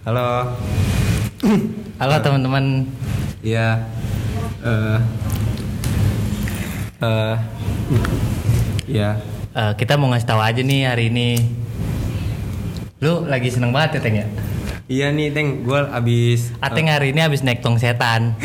Halo. Halo teman-teman. Iya. Iya. Kita mau ngasih tahu aja nih hari ini. Lu lagi seneng banget ya, Teng ya? Iya nih, Teng. Gue abis. Ateng hari ini abis naik tong setan.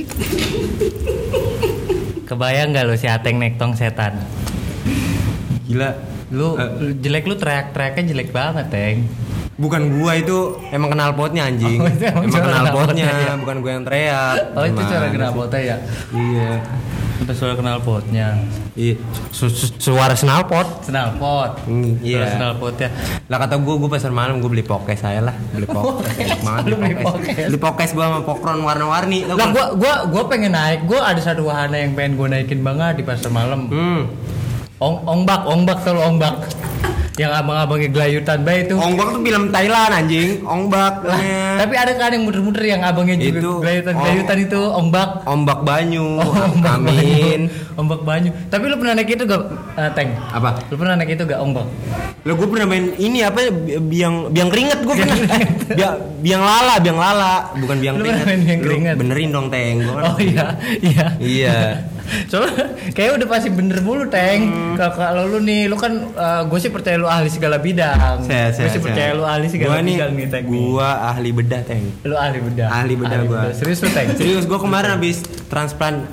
Kebayang nggak lu si Ateng naik tong setan? Gila. Lu jelek, lu teriak-teriaknya jelek banget, Teng. Bukan gua itu, emang kenal potnya anjing. Oh, itu emang kenal potnya, ya? bukan gua yang teriak. Oh, itu suara Gimana kenal sih? potnya ya? Iya. Itu suara kenal potnya. Iya. Suara snalpot. Snalpot. Iya. Suara snalpotnya. Lah kata gua pasar malam gua beli pokes saya lah, beli pokes. Enak banget Lu beli pokes. Beli pokes gua sama pokron warna-warni. Tau Lah kan? gua pengen naik. Gua ada satu wahana yang pengen gua naikin banget di pasar malam. Ongbak tuh lo ongbak. Yang abang-abangnya gelayutan baik itu. Ongbak tuh film Thailand anjing, Ongbak. Tapi ada kan yang muter-muter yang abangnya juga Itu, gelayutan itu ongbak. Ombak Banyu. Ombak Amin. Banyu. Ombak Banyu. Tapi lu pernah naik itu gak, Teng? Apa? Lu pernah naik itu gak ombak? Lo gue pernah main ini apa biang keringet gue pernah. biang lala, bukan biang Lu keringet. pernah main biang Lu keringet? benerin dong, Teng. Gua kan- Oh iya. Iya. Soalnya kayak udah pasti bener mulu, Teng. Kalau lu nih, lu kan gue sih percaya lu ahli segala bidang. Gue sih percaya lu ahli segala bidang nih, Teng. Gua ahli bedah, Teng. Lu ahli bedah. Ahli bedah gua. Serius lu, Teng? Serius, gua kemarin habis transplant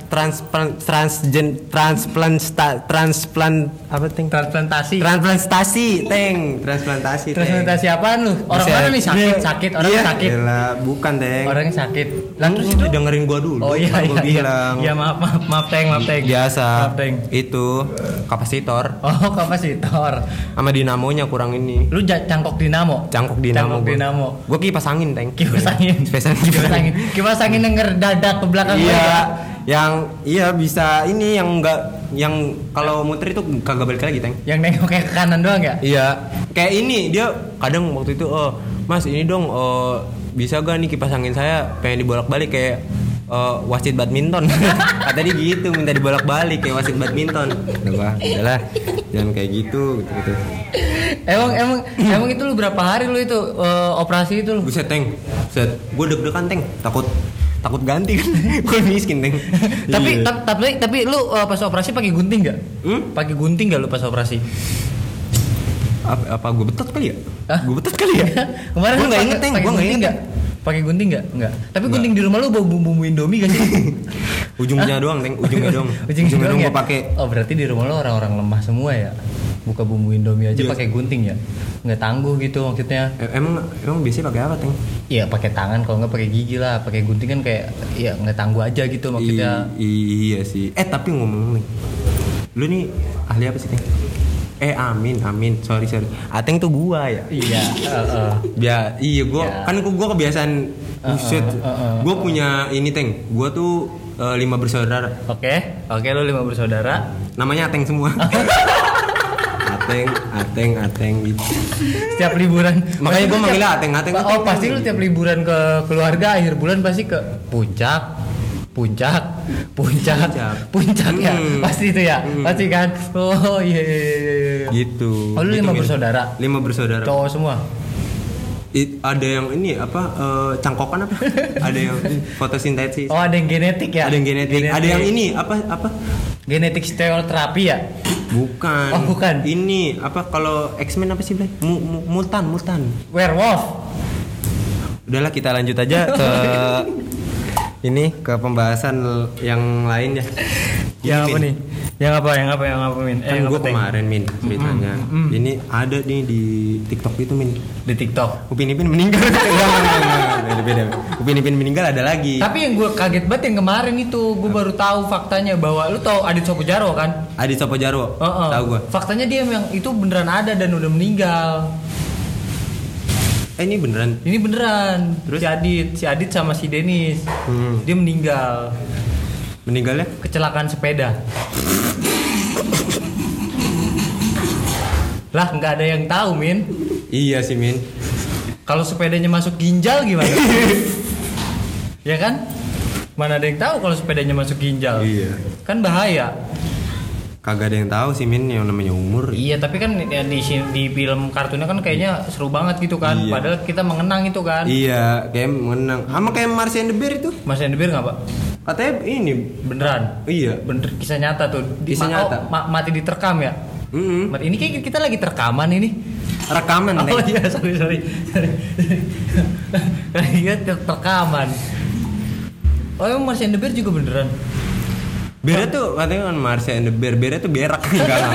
apa, Teng? Transplantasi. Transplantasi, Teng. Transplantasi, Teng. Transplantasi apaan lu? Orang Bisa. mana nih sakit? Orangnya Iya. sakit. Yalah, bukan, Teng. Orangnya sakit. Lah terus Lu itu dengerin gua dulu. Oh iya Kan iya gua bilang. iya. Maaf Teng. Biasa. Maaf, Teng. Itu kapasitor Oh, kapasitor. sama dinamonya kurang ini. Lu cangkok dinamo. Cangkok dinamo. Cangkok dinamo. Gua kipas angin, Teng. Kipas angin. Kipas angin yang ngedadak ke belakang Iya. gua. Iya bisa ini yang enggak, yang kalau muter itu kagak balik lagi, Teng. Yang nengok kayak ke kanan doang ya? Iya. Kayak ini dia kadang waktu itu, Mas ini dong, bisa gak nih kipas angin saya pengen dibolak-balik kayak wasit badminton. Kata dia gitu, minta dibolak-balik kayak wasit badminton. Udahlah, jangan kayak gitu. Emang itu lu berapa hari lu itu operasi itu lu? Buset, Teng. Buset. Gue deg-degan, Teng. Takut ganti kan. Gue miskin, Teng. Tapi lu pas operasi pakai gunting enggak? Pakai gunting enggak lu pas operasi? Apa gue betot kali ya? Hah? Gue betot kali ya? Kemarin Gue lu nggak inget, Teng. Gue nggak inget. Pakai gunting enggak? Tapi gunting di rumah lu bawa bumbu Indomie gak sih? Ujungnya doang, Teng. Ujungnya doang. Ujungnya doang ya? Gue pakai. Oh, berarti di rumah lu orang-orang lemah semua ya? Buka bumbu Indomie aja Iya. pakai gunting ya? Nggak tangguh gitu maksudnya. Emang biasanya pakai apa, Teng? Iya, pakai tangan, kalau nggak pakai gigi lah. Pakai gunting kan kayak ya nggak tangguh aja gitu maksudnya. Iya sih. Tapi ngomong nih, lu nih ahli apa sih, Teng? Amin. Sorry. Ateng tuh gua ya. Iya, Iya, gua Ya. kan gua kebiasaan. Buset. Gua punya ini, Teng. Gua tuh 5 bersaudara. Oke, lu 5 bersaudara. Namanya Ateng semua. Ateng gitu. Setiap liburan. Makanya gua Pasti manggilnya tiap- Ateng. Oh, pasti lu tiap liburan ke keluarga akhir bulan pasti ke puncak ya. Pasti itu ya. Pasti kan. Oh iya. Gitu. Oh, lu 5 Min. bersaudara. 5 bersaudara. Cowok semua. Ada yang ini apa, cangkokan apa? Ada yang fotosintesis. Oh, ada yang genetik ya? Ada yang genetik. Ada yang ini apa? Genetik stereoterapi ya? Bukan. Oh, bukan. Ini apa, kalau X-Men apa sih, Blay? Mutan. Werewolf. Udahlah, kita lanjut aja ke ini, ke pembahasan yang lain ya. Yang Ini, apa Min. nih? Yang apa Min? Kan yang gue apa, Teng? kemarin, Min, ceritanya. Ini ada nih di TikTok itu, Min. Di TikTok. Upin Ipin meninggal. Enggak, beda. Upin Ipin meninggal ada lagi. Tapi yang gue kaget banget yang kemarin itu, gue baru tahu faktanya bahwa lu tahu Adit Sopo Jarwo kan? Adit Sopo Jarwo. Tahu gue. Faktanya dia yang itu beneran ada dan udah meninggal. Ini beneran. Ini beneran. Terus? Si Adit sama si Denis. Dia meninggal. Meninggalnya? Kecelakaan sepeda. Lah, nggak ada yang tahu, Min. Iya sih, Min. Kalau sepedanya masuk ginjal gimana? Ya kan? Mana ada yang tahu kalau sepedanya masuk ginjal? Iya. Kan bahaya. Kagak ada yang tahu sih Min yang namanya umur. Iya, tapi kan ya, di film kartunnya kan kayaknya seru banget gitu kan. Iya. Padahal kita mengenang itu kan. Iya, kayak mengenang. Sama kayak Mars and the Bear itu. Mas and the Bear nggak, Pak? Katanya ini Beneran? iya, Bener, kisah nyata tuh. Kisah nyata. Mati diterkam ya? Ini kayak kita lagi terekaman ini. Rekaman Oh iya, sorry. Iya, terekaman. Oh, emang Mars and the Bear juga beneran? Bear tuh katanya kan Mars and the Bear. Bear tuh berak.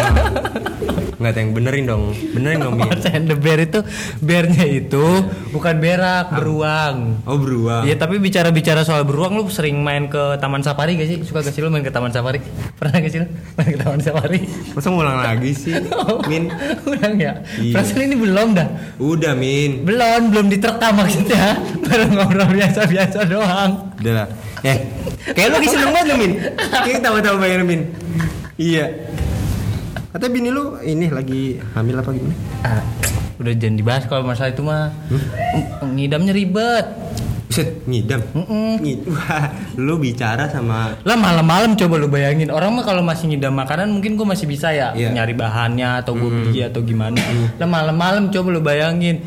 Enggak ada yang benerin dong Min. Mars and the Bear itu bearnya itu bukan berak, beruang. Oh, beruang. Iya, tapi bicara soal beruang, lu sering main ke Taman Safari gak sih? Suka gak sih lu main ke Taman Safari? Pernah gak sih lu main ke Taman Safari? Masa ngulang lagi sih, Min? Ulang ya? Iya. Perasaan ini belum dah. Udah, Min. Belum diterkam maksudnya. Baru ngobrol biasa-biasa doang. Udah lah. Kayak lu lagi seneng banget Min. Kayak tahu-tahu bayar Min. Iya. Kata bini lu ini lagi hamil apa gimana? Udah jangan dibahas kalau masalah itu mah. Ngidamnya ribet. Buset, ngidam. Wah, lu bicara sama Lah malam-malam coba lu bayangin. Orang mah kalau masih ngidam makanan mungkin gue masih bisa ya nyari bahannya atau gue beli atau gimana. Lah malam-malam coba lu bayangin.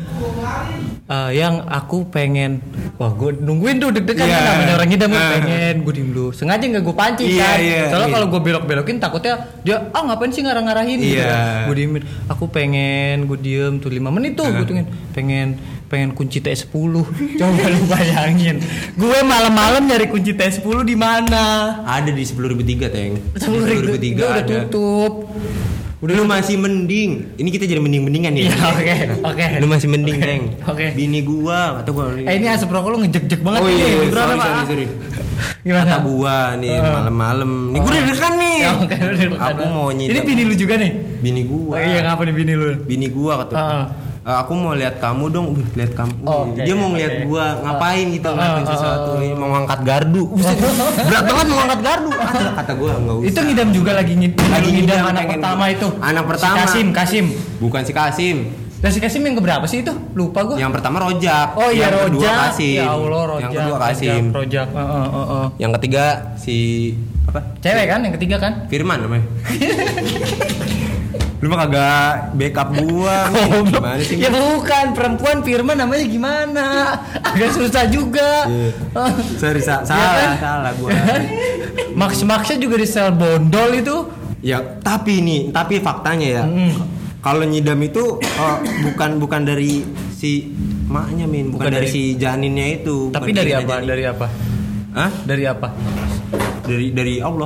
Yang aku pengen, wah gue nungguin tuh deg-degan kan namanya orang ngidam pengen gue diem dulu. Sengaja nggak gue pancing kan. Soalnya kalau gue belok-belokin takutnya dia ngapain sih ngarang-ngarahin gitu. Gue diemin. Aku pengen gue diem tuh 5 menit tuh gue tungguin pengen kunci T10. Coba lu bayangin. Gue malam-malam nyari kunci T10 di mana? Ada di 10.003 Teng. 10.003 udah tutup. Udah lu masih mending. Ini kita jadi mending-mendingan nih. Oke. Lu masih mending, Teng. Oke. Bini gua atau gua. Ini asap rokok lu ngejek-jek banget nih. Sorry. Gimana? Kata gua nih malam-malam. Nih gua deg-degan nih. Aku mau nyidam. Ini bini lu juga nih? Bini gua. Iya, ngapa nih bini lu? Bini gua kata. Aku mau lihat kamu dong, lihat kamu. Dia mau ngeliat gua ngapain gitu, ngelakuin sesuatu, mau ngangkat gardu. Berat banget mau ngangkat gardu. Kata gua enggak usah. Itu ngidam juga lagi ngidam anak pertama itu. Anak pertama. Si Kasim. Bukan si Kasim. Dan si Kasim yang keberapa sih itu? Lupa gua. Yang pertama Rojak. Oh iya, yang Rojak. Kedua Kasim. Ya Allah, Rojak. Yang kedua Kasim. Rojak. Yang ketiga si apa? Cewek kan yang ketiga kan? Firman namanya. Lu mah kagak backup gua. Gimana sih? Ya bukan, perempuan Firman namanya gimana? Agak susah juga. Sorry, salah gua. Maksnya juga di sel bondol itu. Ya, tapi faktanya ya. Kalau nyidam itu bukan dari si maknya Min, bukan dari si janinnya itu. Tapi dari apa? Dari apa? Hah? Dari apa? Dari Allah.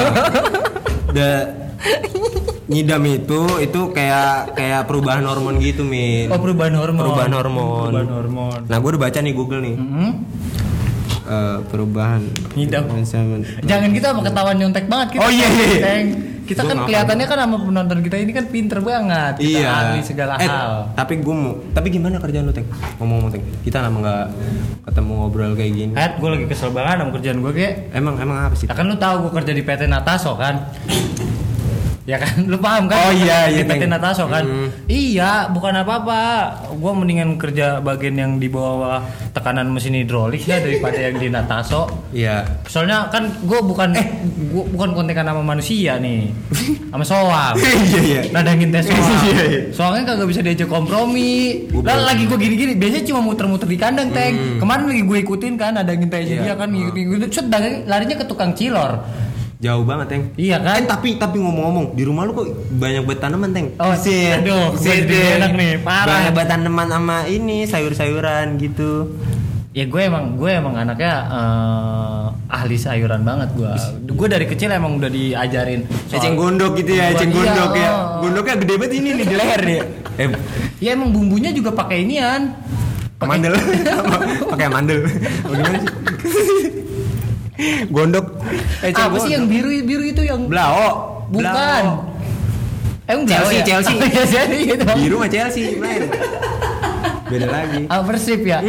Nyidam itu kayak perubahan hormon gitu Min. Oh, perubahan hormon. Nah gue udah baca nih Google nih. Perubahan nyidam. Jangan kita apa ketahuan nyontek banget kita. Oh iya. Kita kan kelihatannya kan sama penonton kita ini kan pinter banget. Kita ahli segala hal. Tapi gimana kerjaan lu Teng? Ngomong Teng. Kita lama nggak ketemu ngobrol kayak gini. Gue lagi kesel banget sama kerjaan gue kayak. Emang apa sih? Kan lu tahu gue kerja di PT Nataso kan. Ya kan, lu paham kan? Oh iya, PT Nataso kan. Iya, bukan apa-apa. Gua mendingan kerja bagian yang di bawah tekanan mesin hidrolik ya daripada yang di Nataso. Iya. Soalnya kan gua bukan kontekan sama manusia nih. Sama soang. Iya. Nadangin tes soang. Soalnya kagak bisa diajak kompromi. Lah lagi gua gini-gini, biasanya cuma muter-muter di kandang, Teng. Kemarin lagi gue ikutin kan nadangin tesnya dia kan ngikutin. Set larinya ke tukang cilor. Jauh banget Teng. Iya kan? Tapi ngomong-ngomong di rumah lu kok banyak banget tanaman Teng. Oh aduh, enak nih, parah. Banyak banget tanaman sama ini sayur-sayuran gitu. Ya gue emang anaknya ahli sayuran banget gue. Gue dari kecil emang udah diajarin. Eceng gondok gitu ya, eceng gondok ya. Gondoknya gede banget ini nih di leher nih. Ya emang bumbunya juga pakai inian. Mandel. Pakai mandel. Bagaimana sih? Gondok apa sih yang biru itu yang Blao? Bukan. Emang Chelsea. Gitu. Biru sama Chelsea lain. Beda lagi. Persib ya?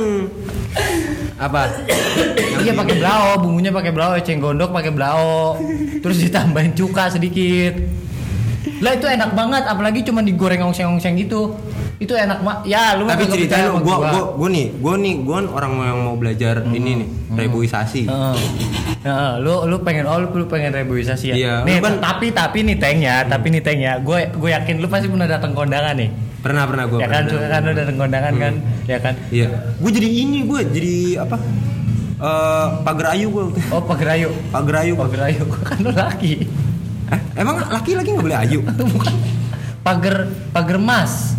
Apa? Iya pakai blao, bumbunya pakai blao, eceng gondok pakai blao. Terus ditambahin cuka sedikit. Lah itu enak banget, apalagi cuma digoreng ongseng-ongseng gitu. Itu enak ya lu. Tapi ceritanya gue kan orang yang mau belajar ini nih, reboisasi. Lu pengen reboisasi ya. Iya, nih tapi nih Teng ya, gue yakin lu pasti pernah datang kondangan nih. Pernah gue. Ya kan, kan lu datang kondangan kan, ya kan? Iya. Gue jadi apa? Pagar ayu gue. Oh, pagar ayu. Kan lu laki. Emang laki nggak boleh ayu? Bukan. Pagar mas.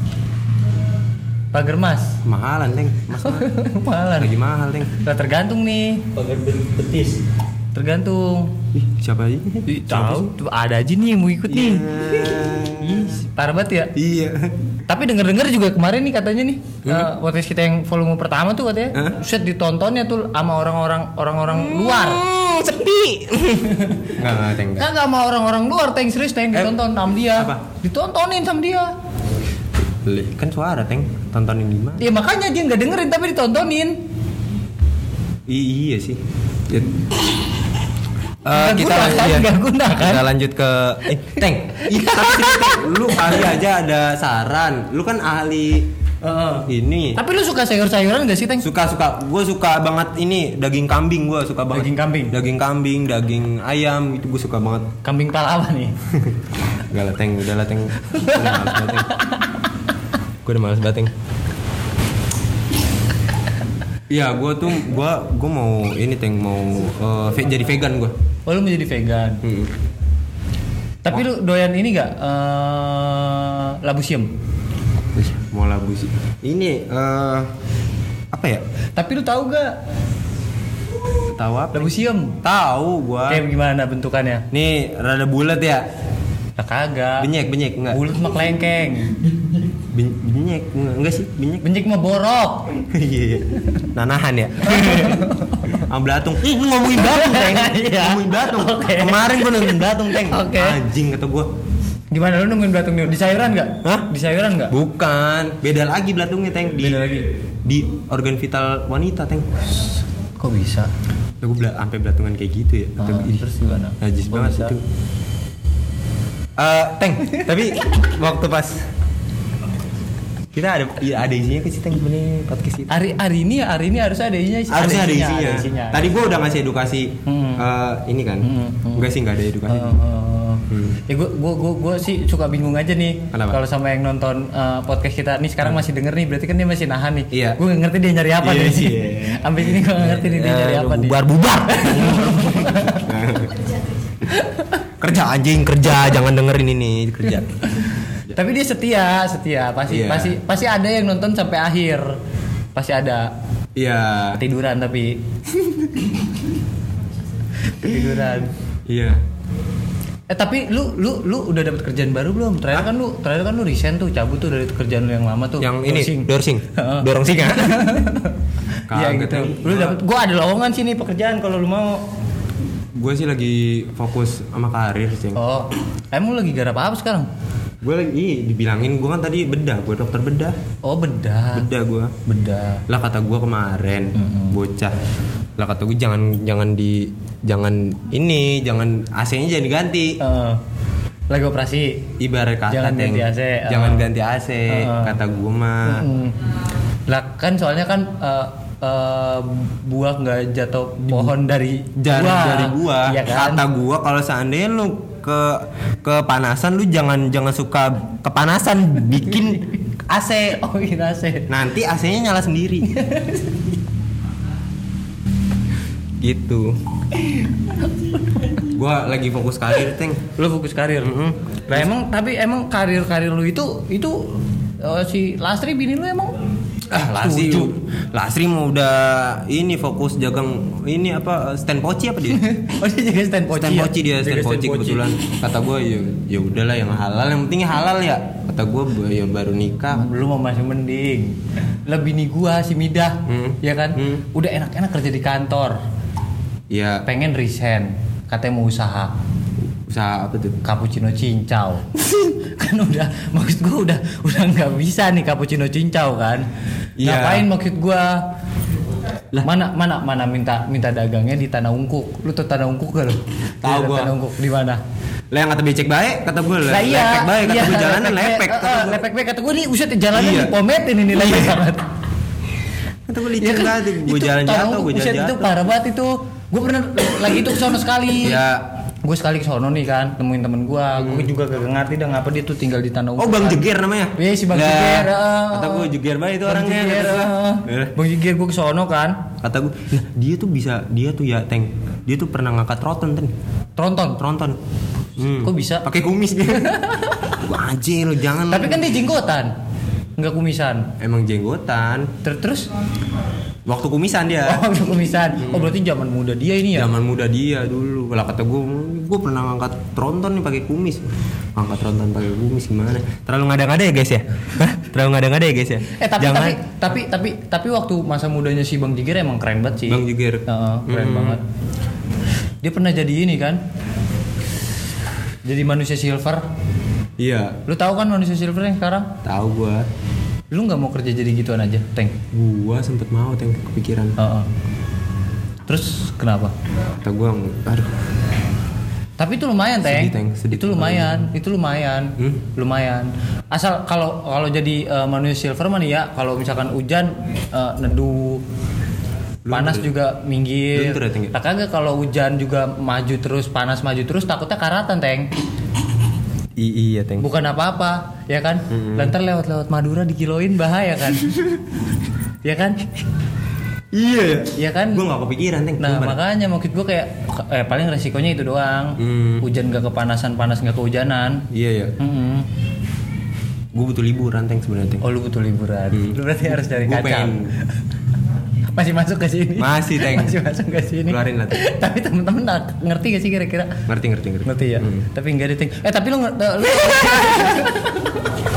Mahalan, Teng. Mahalan. Lagi mahal, Teng. Nah, tergantung nih. Pagar betis. Tergantung. Siapa aja? Tahu, ada aja nih yang mau ikut nih. Parah banget ya. Iya. Tapi denger juga kemarin nih katanya nih, podcast kita yang volume pertama tuh katanya, set ditontonnya tuh sama orang-orang luar. Sepi. Enggak, Teng. Enggak sama orang-orang luar, Teng, serius Teng, ditonton sama dia. Apa? Ditontonin sama dia. Kan suara, Teng. Tontonin di mana? Ya makanya dia enggak dengerin tapi ditontonin. Iya sih. Nggak guna kan? Kita lanjut ke Teng. Lu kali aja ada saran. Lu kan ahli ini. Tapi lu suka sayur-sayuran gak sih, Teng? Suka. Gue suka banget ini daging kambing. Gue suka banget. Daging kambing, daging ayam itu gue suka banget. Kambing pala apa nih? Enggak lah, Teng. Udahlah, Teng. Gue udah males banget, Teng. Iya, gue mau ini, Teng, mau jadi vegan gue. Oh, lu mau jadi vegan. Tapi lu doyan ini gak? Labu siam. Mau labu sih. Ini apa ya? Tapi lu tahu gak? Tahu apa? Labu siam. Tahu gua. Kayak gimana bentukannya? Nih, rada bulat ya. Nah, kagak. Benyek enggak. Bulat mah kelengkeng. Benyek enggak sih? Benyek mah borok. Iya. Nanahan ya. Am belatung. Lu ngomongin belatung, Teng. Ngomongin belatung. Okay. Kemarin gua nonton belatung, Teng. Okay. Anjing kata gua. Gimana lu nemuin belatung nih? Di sayuran enggak? Hah? Di sayuran enggak? Bukan. Beda lagi belatungnya, Teng. Beda lagi. Di organ vital wanita, Teng. Kok bisa? Gue sampai belatungan kayak gitu ya. Terus gimana? Najis banget bisa? itu. Teng, tapi waktu pas kita ada isinya ke sih, Teng, sebenarnya podcast kita. Hari ini harusnya ada isinya. Harusnya ada isinya. Tadi gue udah ngasih edukasi ini kan. Enggak sih, enggak ada edukasi. Ya gue sih suka bingung aja nih kalau sama yang nonton podcast kita nih sekarang masih denger nih, berarti kan dia masih nahan nih. Iya. Gue nggak ngerti dia nyari apa nih. Sampai sini gue nggak ngerti nih dia nyari apa nih. Bubar. Kerja anjing, jangan dengerin ini, kerja. Tapi dia setia, pasti ada yang nonton sampai akhir. Pasti ada. Iya. Ketiduran tapi. Ketiduran. Iya. Tapi lu udah dapat kerjaan baru belum? Terakhir kan lu resign tuh, cabut tuh dari kerjaan lu yang lama tuh. Yang ini Dorong sing. Iya gitu. Lu dapat, gua ada lowongan sih nih pekerjaan kalau lu mau. Gue sih lagi fokus sama karir sih. Oh, emang lagi garap apa sekarang? Gue lagi dibilangin, gue kan tadi bedah, gue dokter bedah. Oh, bedah gue. Bedah. Lah kata gue kemarin, bocah. Lah kata gue jangan AC-nya jangan diganti. Lagi operasi. Ibarat kata jangan ganti AC. Jangan ganti AC, kata gue mah. Lah kan soalnya kan buah nggak jatuh pohon dari buah. Iya kan? Kata gua kalau seandainya lu kepanasan, lu jangan suka kepanasan, bikin AC. Oh, bikin AC. Nanti AC-nya nyala sendiri. Gitu. Gua lagi fokus karir, Teng. Lu fokus karir. Nah, emang karir lu itu si Lastri bini lu emang Lasri mau udah ini fokus jagang ini apa stand poci apa dia? Oh, dia jaga stand poci. Stand poci kebetulan. Kata gue ya udahlah yang halal, yang penting halal ya. Kata gue ya baru nikah. Lu mau masih mending. Lebih nih gua si Midah, ya kan? Udah enak-enak kerja di kantor. Iya. Pengen resign, katanya mau usaha. Usaha apa tuh? Cappuccino cincau. Kan maksud gue udah nggak bisa nih cappuccino cincau kan. Yeah. Ngapain maksud gue? Mana minta dagangnya di Tanah Ungkuk. Lu tuh Tanah Ungkuk gak lu? Tahu gue. Tanah Ungkuk di mana? Lah yang kata becek baik, kata gue Lah iya. lepek baik, kata gue jalanan lepek, kata gue. Lepek baik kata gue nih uset jalanan Iya. dipometin ini lepek banget. Kata gue licin banget, gue jalan jatuh, gue jalan Itu jatuh. parah banget itu. Gue pernah lagi itu kesono sekali. Ya. Gue sekali kesono nih kan, temuin temen gue. Gue juga gak ngerti dah ngapa dia tuh tinggal di Tanah Oh, Bang Jeger namanya. Iya si Bang Lah, Jeger. Kata gue Jeger banget itu Bang orangnya. Jeger, kata gue. Bang Jeger gue kesono kan. Kata gue, nah dia tuh bisa, dia tuh ya Teng, dia tuh pernah ngangkat tronton. Tronton. Kok bisa? Pakai kumis dia. Wah, anjir lu jangan. Tapi kan dia jenggotan, nggak kumisan. Emang jenggotan. Terus? Waktu kumisan dia. Oh, udah kumisan. Oh, berarti zaman muda dia ini ya? Zaman muda dia dulu. Kalau kata gue pernah ngangkat tronton nih pakai kumis. Ngangkat tronton pakai kumis gimana? Terlalu ngada-ngada ya guys ya? Hah? Terlalu ngada-ngada ya guys ya? Tapi waktu masa mudanya si Bang Jeger emang keren banget sih. Bang Jeger. Keren banget. Dia pernah jadi ini kan? Jadi manusia silver. Iya. Lu tahu kan manusia silver yang sekarang? Tahu gue. Lu nggak mau kerja jadi gituan aja, Teng? Gua sempet mau Teng kepikiran. Terus kenapa? Kata gue, aduh. Tapi itu lumayan, Teng. Sedih. Itu lumayan. Lumayan. Asal kalau jadi manusia silver mah nih ya, kalau misalkan hujan neduh, panas juga minggir. Luntur ya, Teng? Tak kagak kalau hujan juga maju terus, panas maju terus, takutnya karatan, Teng. Iya Teng. Bukan apa-apa, ya kan? Lantar lewat Madura dikiloin bahaya kan? Ya kan? Iya ya. Ya kan? Gue gak kepikiran Teng. Nah makanya maksud gue kayak paling resikonya itu doang. Hujan gak kepanasan, panas gak kehujanan. Iya ya. Gue butuh liburan Teng sebenarnya Teng. Oh lu butuh liburan. Lu berarti harus cari Gua kacang. Masih masuk ke sini. Masih Teng. Masih masuk ke sini. Keluarin lah Teng. Tapi temen-temen ngerti gak sih kira-kira? Ngerti. Ngerti ya. Tapi enggak ada Teng. Tapi lu